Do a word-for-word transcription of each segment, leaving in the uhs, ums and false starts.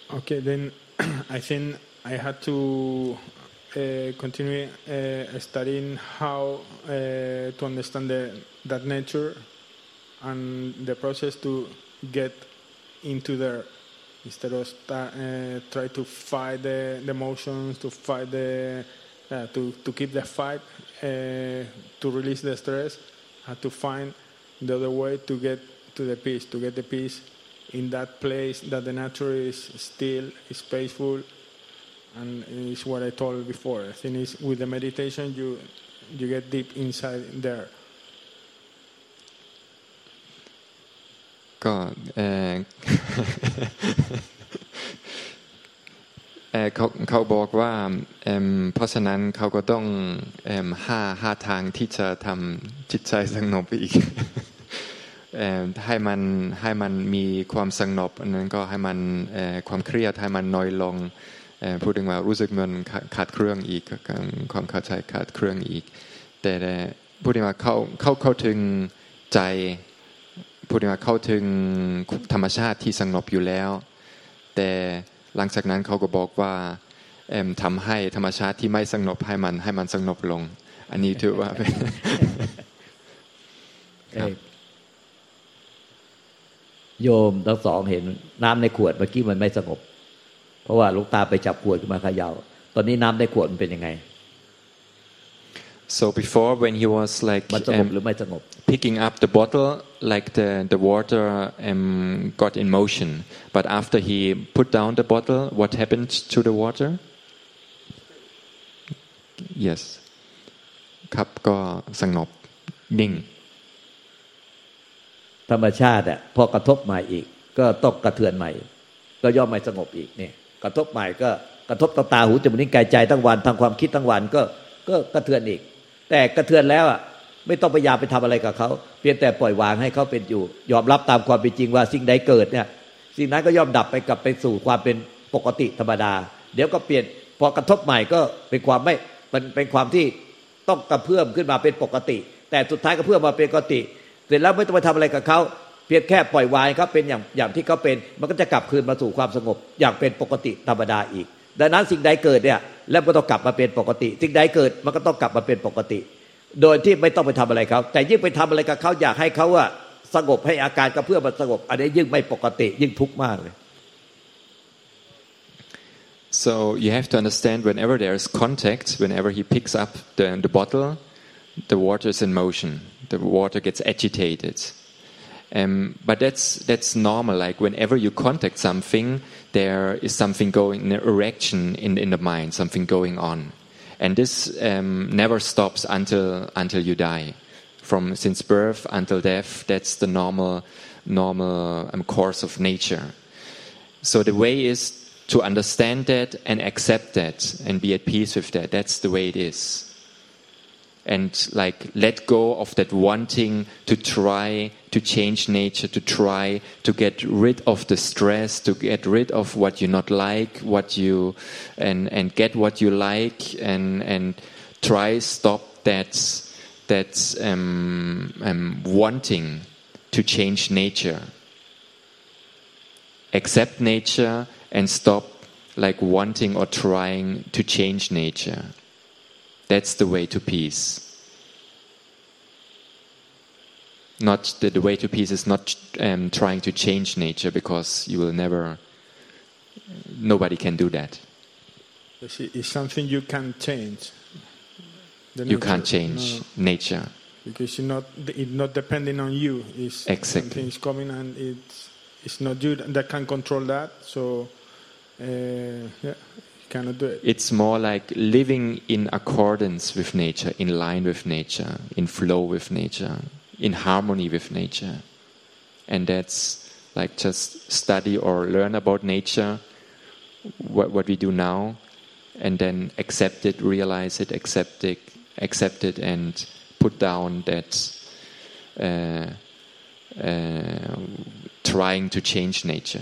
Okay, then I think I had to uh, continue uh, studying how uh, to understand the, that nature and the process to get into there instead of start, uh, try to fight the, the emotions, to fight the uh, to to keep the fight, uh, to release the stress. I had to find the other way to get to the peace, to get the peace in that place that the nature is still, is peaceful, and is what I told before. I think is with the meditation you you get deep inside there. ก็เออ เออเขาเขาบอกว่าเออเพราะฉะนั้นเขาก็ต้องเออห้าห้าทางที่จะทำจิตใจสงบอีก เออให้มันให้มันมีความสงบอันนั้นก็ให้มันเออความเครียดให้มันน้อยลงเออพูดถึงว่ารู้สึกเหมือนขาดเครื่องอีกความเข้าใจขาดเครื่องอีกแต่พูดถึงว่าเขาเขาเข้าถึงใจพูดถึงว่าเข้าถึงธรรมชาติที่สงบอยู่แล้วแต่หลังจากนั้นเขาก็บอกว่าเอ่อทำให้ธรรมชาติที่ไม่สงบให้มันให้มันสงบลงอันนี้ถือว่าเป็นโยมทั้งสองเห็นน้ำในขวดเมื่อกี้มันไม่สงบเพราะว่าหลวงตาไปจับขวดขึ้นมาเขย่าตอนนี้น้ำในขวดมันเป็นยังไง So before when he was like um, picking up the bottle, like the, the water um, got in motion. But after he put down the bottle, what happened to the water? Yes. ครับก็สงบนิ่งธรรมชาติอ่ะพอกระทบใหม่อีกก็ต้องกระเทือนใหม่ก็ย่อมไม่สงบอีกเนี่ยกระทบใหม่ก็กระทบตาหูจมูกลิ้นกายใจทั้งวันทางความคิดทั้งวันก็ก็กระเทือนอีกแต่กระเทือนแล้วอ่ะไม่ต้องพยายามไปทำอะไรกับเขาเพียงแต่ปล่อยวางให้เขาเป็นอยู่ยอมรับตามความเป็นจริงว่าสิ่งใดเกิดเนี่ยสิ่งนั้นก็ย่อมดับไปกลับไปสู่ความเป็นปกติธรรมดาเดี๋ยวก็เปลี่ยนพอกระทบใหม่ก็เป็นความไม่มันเป็นความที่ต้องกระเพื่อมขึ้นมาเป็นปกติแต่สุดท้ายก็เพื่อมาเป็นปกติเสร็จแล้วไม่ต้องไปทำอะไรกับเขาเพียงแค่ปล่อยวางเขาเป็นอย่างอย่างที่เขาเป็นมันก็จะกลับคืนมาสู่ความสงบอย่างเป็นปกติธรรมดาอีกดังนั้นสิ่งใดเกิดเนี่ยแล้วก็ต้องกลับมาเป็นปกติสิ่งใดเกิดมันก็ต้องกลับมาเป็นปกติโดยที่ไม่ต้องไปทำอะไรเขาแต่ยิ่งไปทำอะไรกับเขาอยากให้เขาว่าสงบให้อาการกระเพื่อมมันสงบอันนี้ยิ่งไม่ปกติยิ่งทุกข์มากเลย So you have to understand whenever there is contact, whenever he picks up the, the bottle, the water is in motion. The water gets agitated. Um, but that's that's normal. Like whenever you contact something, there is something going, an erection in in the mind, something going on, and this um, never stops until until you die. From since birth until death, that's the normal normal um, course of nature. So the way is to understand that and accept that and be at peace with that. That's the way it is. And like let go of that wanting to try to change nature, to try to get rid of the stress, to get rid of what you not like, what you and and get what you like, and and try stop that that um, um, wanting to change nature. Accept nature and stop like wanting or trying to change nature. That's the way to peace. Not the, the way to peace is not um, trying to change nature because you will never. Nobody can do that. It's something you can change. You can't change no, nature because you're not. It's not depending on you. It's exactly. Something's coming and it's it's not you that can control that. So uh, yeah. Cannot do it. It's more like living in accordance with nature, in line with nature, in flow with nature, in harmony with nature. And that's like just study or learn about nature, what, what we do now, and then accept it, realize it, accept it, accept it, and put down that uh, uh, trying to change nature.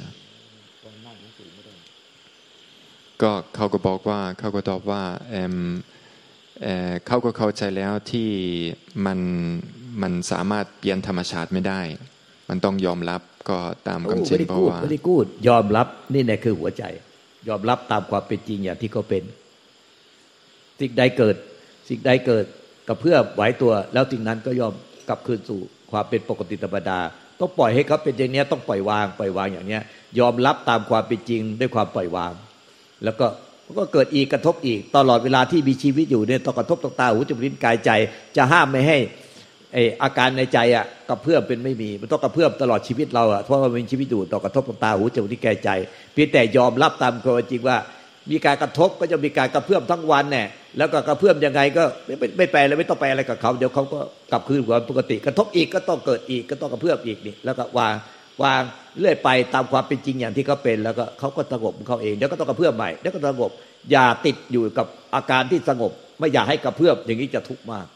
ก็เขาก็บอกว่าเขาก็ตอบว่า เ, เ, เขาก็เข้าใจแล้วที่มันมันสามารถเปลี่ยนธรรมชาติไม่ได้มันต้องยอมรับก็ตามความจริงเพราะว่า very good ยอมรับนี่แหละคือหัวใจยอมรับตามความเป็นจริงอย่างที่เขาเป็นสิ่งใดเกิดสิ่งใดเกิดกระเพื่อมไหวตัวแล้วสิ่งนั้นก็ยอมกลับคืนสู่ความเป็นปกติธรรมดาต้องปล่อยให้เขาเป็นอย่างนี้ต้องปล่อยวางปล่อยวางอย่างนี้ยอมรับตามความเป็นจริงด้วยความปล่อยวางแล้วก็ก็เกิดอีกกระทบอีกตลอดเวลาที่มีชีวิตอยู่เนี่ยต้องกระทบต่างตาหูจมูกลิ้นกายใจจะห้ามไม่ให้ไออาการในใจอ่ะกระเพื่อมเป็นไม่มีมันต้องกระเพื่อมตลอดชีวิตเราอ่ะเพราะว่ามีชีวิตอยู่ต้องกระทบตาหูจมูกลิ้นกายใจเพียงแต่ยอมรับตามความจริงว่ามีการกระทบก็จะมีการกระเพื่อมทั้งวันเนี่ยแล้วก็กระเพื่อมยังไงก็ไม่ไม่แปลเลยไม่ต้องแปลอะไรกับเขาเดี๋ยวเขาก็กลับคืนความปกติกระทบอีกก็ต้องเกิดอีกก็ต้องกระเพื่อมอีกนี่แล้วก็วางวางเรื่อยไปตามความเป็นจริงอย่างที่เขาเป็นแล้วก็เขาก็สงบของเขาเองเดี๋ยวก็ต้องกระเพื่อมใหม่เดี๋ยวก็สงบอย่าติดอยู่กับอาการที่สงบไม่อยากให้กระเพื่อมอย่างนี้จะทุกข์มาก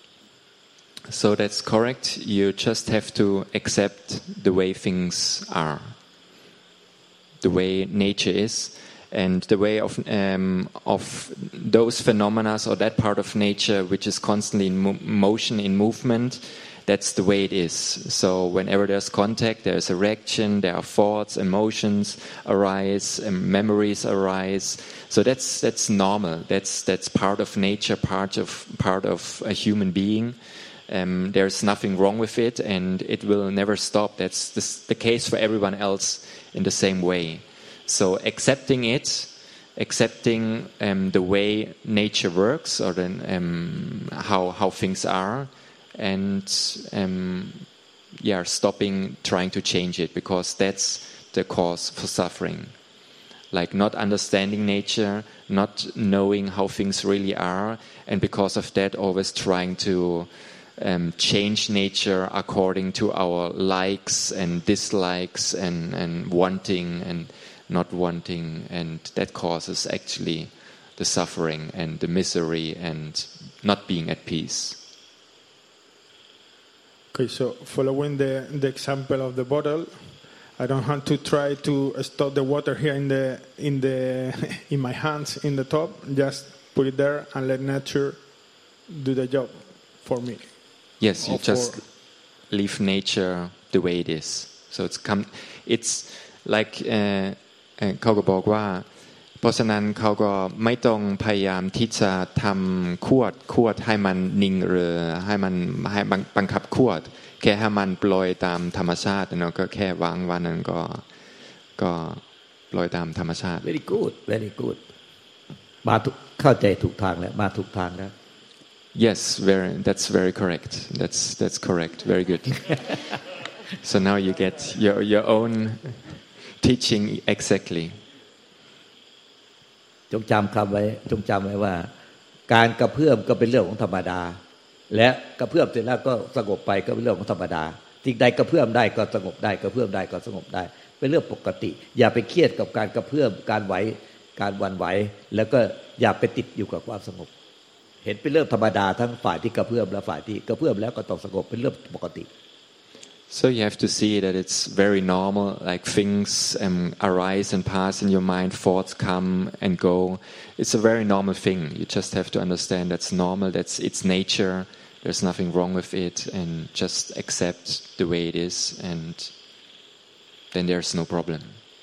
So that's correct. You just have to accept the way things are, the way nature is, and the way of um, of those phenomena or that part of nature which is constantly in mo- motion, in movement. That's the way it is. So whenever there's contact, there's a reaction, there are thoughts, emotions arise, and memories arise. So that's that's normal. That's that's part of nature, part of part of a human being. Um, there's nothing wrong with it, and it will never stop. That's the, the case for everyone else in the same way. So accepting it, accepting um, the way nature works, or then um, how how things are. And um, yeah, stopping trying to change it because that's the cause for suffering. Like not understanding nature, not knowing how things really are, and because of that, always trying to um, change nature according to our likes and dislikes and, and wanting and not wanting, and that causes actually the suffering and the misery and not being at peace. Okay, so following the, the example of the bottle, I don't have to try to stop the water here in the in the in my hands in the top. Just put it there and let nature do the job for me. Yes, you just leave nature the way it is. So it's come. It's like เขาก็บอกว่าเพราะฉะนั้นเขาก็ไม่ต้องพยายามที่จะทำขวดขวดให้มันนิ่งหรือให้มันให้บังคับขวดแค่ให้มันปล่อยตามธรรมชาติเนาะก็แค่วางวันนั้นก็ก็ปล่อยตามธรรมชาติ very good very good มาถูกเข้าใจถูกทางแล้วมาถูกทางแล้ว Yes, very that's very correct. That's that's correct. Very good. So now you get your your own teaching exactly. จงจำคำไว้จงจำไว้ว่าการกระเพื่อมก็เป็นเรื่องของธรรมดาและกระเพื่อมเสร็จแล้วก็สงบไปก็เป็นเรื่องของธรรมดาสิ่งใดกระเพื่อมได้ก็สงบได้กระเพื่อมได้ก็สงบได้เป็นเรื่องปกติอย่าไปเครียดกับการกระเพื่อมการไหวการหวั่นไหวแล้วก็อย่าไปติดอยู่กับความสงบเห็นเป็นเรื่องธรรมดาทั้งฝ่ายที่กระเพื่อมและฝ่ายที่กระเพื่อมแล้วก็ต้องสงบเป็นเรื่องปกติ So you have to see that it's very normal, like things um, arise and pass in your mind, thoughts come and go. It's a very normal thing. You just have to understand that's normal, that's its nature, there's nothing wrong with it, and just accept the way it is, and then there's no problem.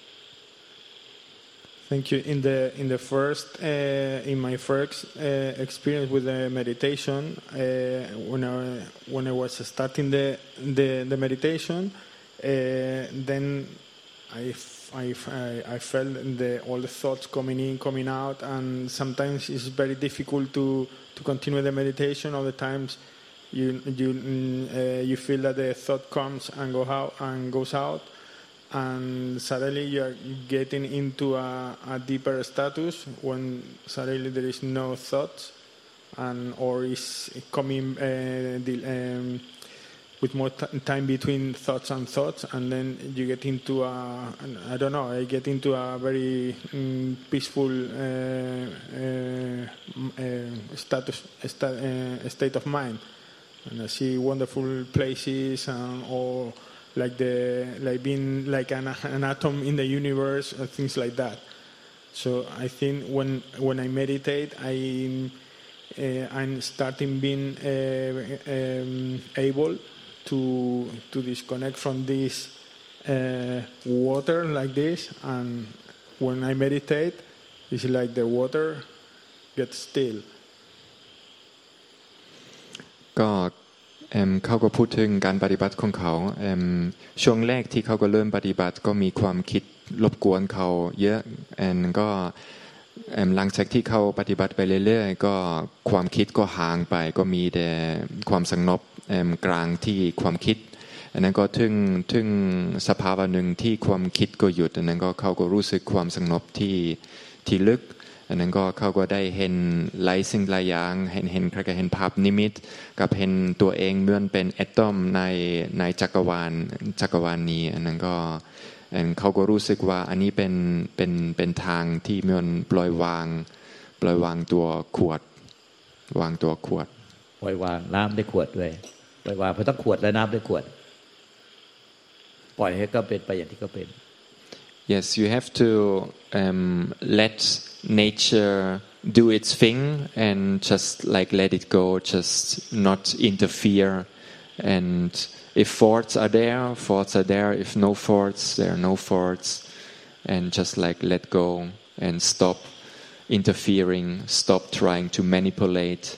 Thank you. In the in the first uh, in my first uh, experience with the meditation, uh, when I when I was starting the the, the meditation, uh, then I, I, I felt the all the thoughts coming in, coming out, and sometimes it's very difficult to, to continue the meditation. Other times, you you uh, you feel that the thought comes and go out and goes out. And suddenly you are getting into a, a deeper status when suddenly there is no thoughts, and or is coming uh, the, um, with more t- time between thoughts and thoughts, and then you get into a I don't know I get into a very um, peaceful uh, uh, uh, status sta- uh, state of mind, and I see wonderful places and or. Like the like being like an, an atom in the universe, or things like that. So I think when when I meditate, I uh, I'm starting being uh, um, able to to disconnect from this uh, water like this, and when I meditate, it's like the water gets still. ก็เอิ่มเขาก็พูดถึงการปฏิบัติของเขาเอิ่มช่วงแรกที่เขาก็เริ่มปฏิบัติก็มีความคิดรบกวนเขาเยอะแอนก็เอิ่มหลังจากที่เขาปฏิบัติไปเรื่อยๆก็ความคิดก็ห่างไปก็มีแต่ความสงบเอิ่มกลางที่ความคิดอันนั้นก็ถึงถึงสภาวะหนึ่งที่ความคิดก็หยุดอันนั้นก็เขาก็รู้สึกความสงบที่ที่ลึกอันนั้นก็เขาก็ได้เห็นหลายสิ่งหลายอย่างเห็นเห็นก็เห็นภาพนิมิตกับเห็นตัวเองเหมือนเป็นแอตอมในในจักรวาลจักรวาลนี้อันนั้นก็เขาก็รู้สึกว่าอันนี้เป็นเป็นเป็นทางที่เหมือนปล่อยวางปล่อยวางตัวขวดวางตัวขวดปล่อยวางน้ำได้ขวดด้วยปล่อยวางเพราะต้องขวดและน้ำได้ขวดปล่อยให้ก็เป็นไปอย่างที่ก็เป็น Yes, you have to um, let nature do its thing and just like let it go, just not interfere. And if thoughts are there, thoughts are there. If no thoughts, there are no thoughts. And just like let go and stop interfering, stop trying to manipulate.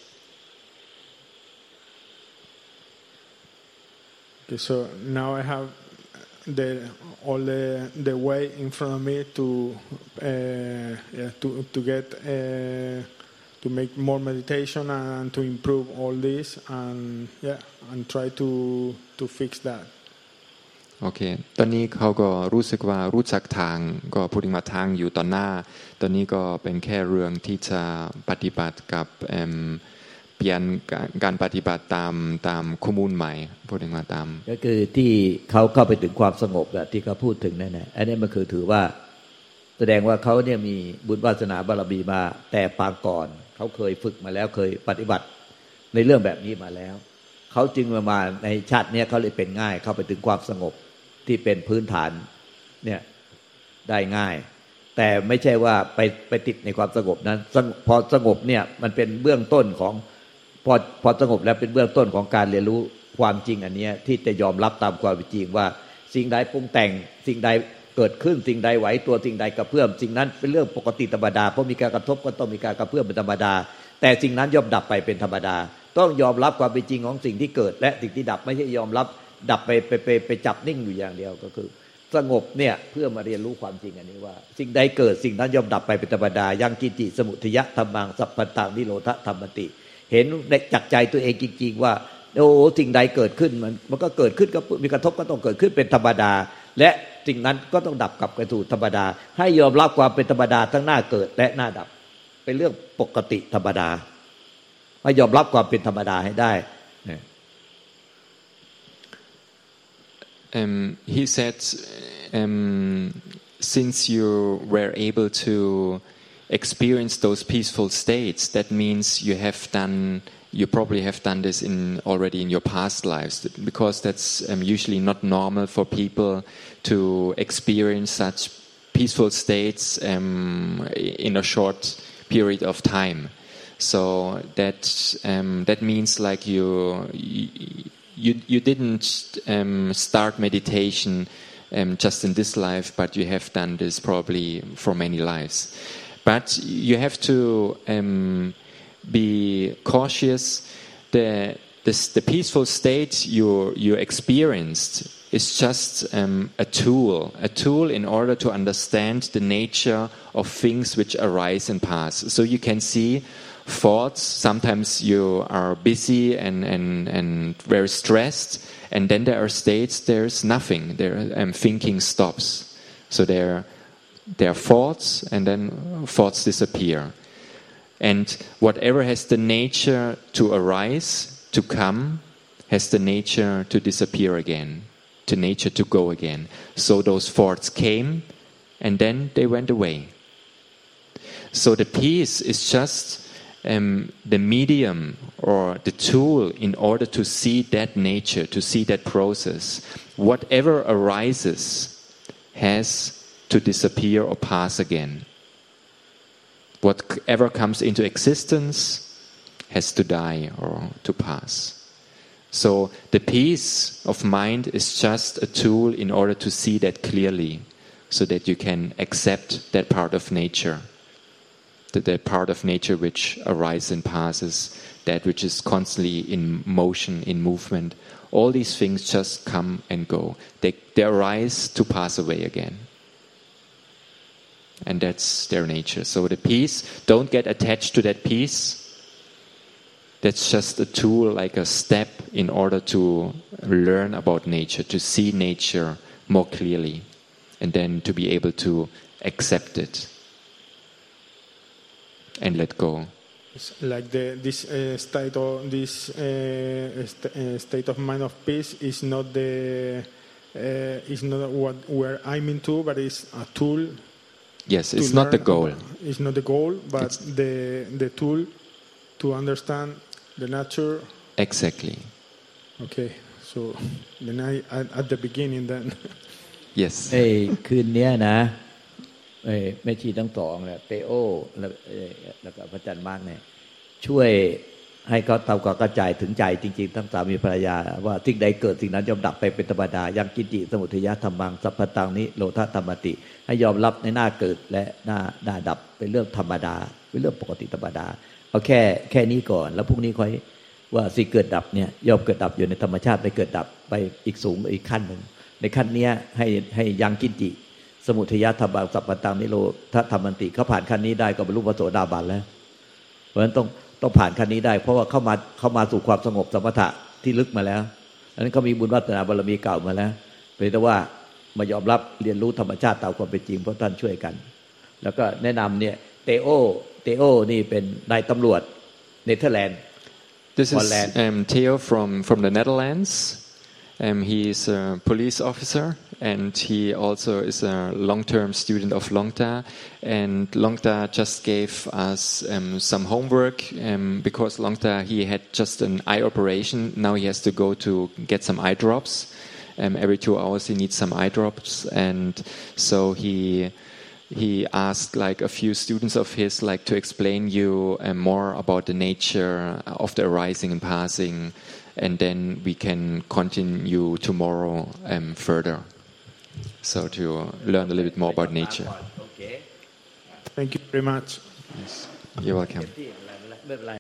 Okay, so now I have the all the the way in front of me to uh, yeah, to to get uh, to make more meditation and to improve all this and yeah and try to to fix that. โอเคตอนนี้เขาก็รู้สึกว่ารู้จักทางก็พูดถึงว่าทางอยู่ต่อหน้าตอนนี้ก็เป็นแค่เรื่องที่จะปฏิบัติกับเปลี่ยนการปฏิบัติตามตามข้อมูลใหม่พูดถึงว่าตามก็คือที่เขาเข้าไปถึงความสงบแบบที่เขาพูดถึงนั่นแหละอันนี้มันคือถือว่าแสดงว่าเขาเนี่ยมีบุญวาสนาบารมีมาแต่ปางก่อนเขาเคยฝึกมาแล้วเคยปฏิบัติในเรื่องแบบนี้มาแล้วเขาจึงมามาในชาตินี้เขาเลยเป็นง่ายเข้าไปถึงความสงบที่เป็นพื้นฐานเนี่ยได้ง่ายแต่ไม่ใช่ว่าไปไปติดในความสงบนั้นพอสงบเนี่ยมันเป็นเบื้องต้นของพอพอสงบแล้วเป็นเบื้องต้นของการเรียนรู้ความจริงอันนี้ที่จะยอมรับตามความเป็นจริงว่าสิ่งใดปรุงแต่งสิ่งใดเกิดขึ้นสิ่งใดไหวตัวสิ่งใดกระเพื่อมสิ่งนั้นเป็นเรื่องปกติธรรมดาเพราะมีการกระทบก็ต้องมีการกระเพื่อมเป็นธรรมดาแต่สิ่งนั้นย่อมดับไปเป็นธรรมดาต้องยอมรับความเป็นจริงของสิ่งที่เกิดและสิ่งที่ดับไม่ใช่ยอมรับดับไปไปไปไปจับนิ่งอยู่อย่างเดียวก็คือสงบเนี่ยเพื่อมาเรียนรู้ความจริงอันนี้ว่าสิ่งใดเกิดสิ่งนั้นย่อมดับไปเป็นธรรมดายังกินจิสมุทยะธัมมังสัพพันตังนิโรธธรรมติเห็นในจักใจตัวเองจริงๆว่าโอ้สิ่งใดเกิดขึ้นมันมันก็เกิดขึ้นก็มีกระทบก็ต้องเกิดขึ้นเป็นธรรมดาและสิ่งนั้นก็ต้องดับกลับไปสู่ธรรมดาให้ยอมรับความเป็นธรรมดาทั้งหน้าเกิดและหน้าดับเป็นเรื่องปกติธรรมดาให้ยอมรับความเป็นธรรมดาให้ได้ Um, he said, um, since you were able to experience those peaceful states, that means you have done, you probably have done this in already in your past lives, because that's um, usually not normal for people to experience such peaceful states um, in a short period of time. So that um, that means like you. you You, you didn't um, start meditation um, just in this life, but you have done this probably for many lives. But you have to um, be cautious. The, this, the peaceful state you, you experienced is just um, a tool, a tool in order to understand the nature of things which arise and pass. So you can see thoughts, sometimes you are busy and, and, and very stressed, and then there are states there's nothing, there um, thinking stops. So there, there are thoughts, and then thoughts disappear. And whatever has the nature to arise, to come, has the nature to disappear again, to nature to go again. So those thoughts came, and then they went away. So the peace is just Um, the medium or the tool in order to see that nature, to see that process. Whatever arises has to disappear or pass again. Whatever comes into existence has to die or to pass. So the peace of mind is just a tool in order to see that clearly, so that you can accept that part of nature, that, that part of nature which arises and passes, that which is constantly in motion, in movement. All these things just come and go. They, they arise to pass away again. And that's their nature. So the peace, don't get attached to that peace. That's just a tool, like a step in order to learn about nature, to see nature more clearly, and then to be able to accept it and let go. It's like the, this uh, state of this uh, st- uh, state of mind of peace is not the uh, is not what we're aiming to, but it's a tool. Yes, it's not the goal. About, it's not the goal, but it's the the tool to understand the nature. Exactly. Okay, so then I at, at the beginning then. Yes. ไอ้คืนนี้นะไอ้แม่ชีทั้งสองเนี่ยเตโอแล้วแล้วก็พระอาจารย์มาร์กเนี่ยช่วยให้เขาทำความเข้าใจถึงใจจริงๆทั้งสามีภรรยาว่าสิ่งใดเกิดสิ่งนั้นย่อมดับไปเป็นธรรมดายังกินจิสมุทัยธรรมังสัพพตังนิโรธธรรมติให้ยอมรับในหน้าเกิดและหน้าหน้าดับเป็นเรื่องธรรมดาเป็นเรื่องปกติธรรมดาเอาแค่แค่นี้ก่อนแล้วพรุ่งนี้ค่อยว่าสิ่งเกิดดับเนี่ยย่อมเกิดดับอยู่ในธรรมชาติไปเกิดดับไปอีกสูงอีกขั้นนึงในขั้นนี้ให้ให้ยังกินจิสมุทัยธรรมังสัพพตังนิโรธธรรมติเขาผ่านขั้นนี้ได้ก็บรรลุพระโสดาบันแล้วเพราะฉะนั้นต้องต้องผ่านขั้นนี้ได้เพราะว่าเข้ามาเข้ามาสู่ความสงบสมถะที่ลึกมาแล้วอันนั้นเขามีบุญวาสนาบารมีเก่ามาแล้วเป็นแต่ว่ามายอมรับเรียนรู้ธรรมชาติตามความเป็นจริงเพราะท่านช่วยกันแล้วก็แนะนำเนี่ยเตโอเตโอนี่เป็นนายตำรวจเนเธอร์แลนด์ This is um, Theo from from the Netherlands. Um, he is a police officer, and he also is a long-term student of Longta. And Longta just gave us um, some homework um, because Longta, he had just an eye operation. Now he has to go to get some eye drops. Um, every two hours he needs some eye drops, and so he he asked like a few students of his like to explain you um, more about the nature of the arising and passing. And then we can continue tomorrow um, further. So to learn a little bit more about nature. Thank you very much. Yes. You're welcome.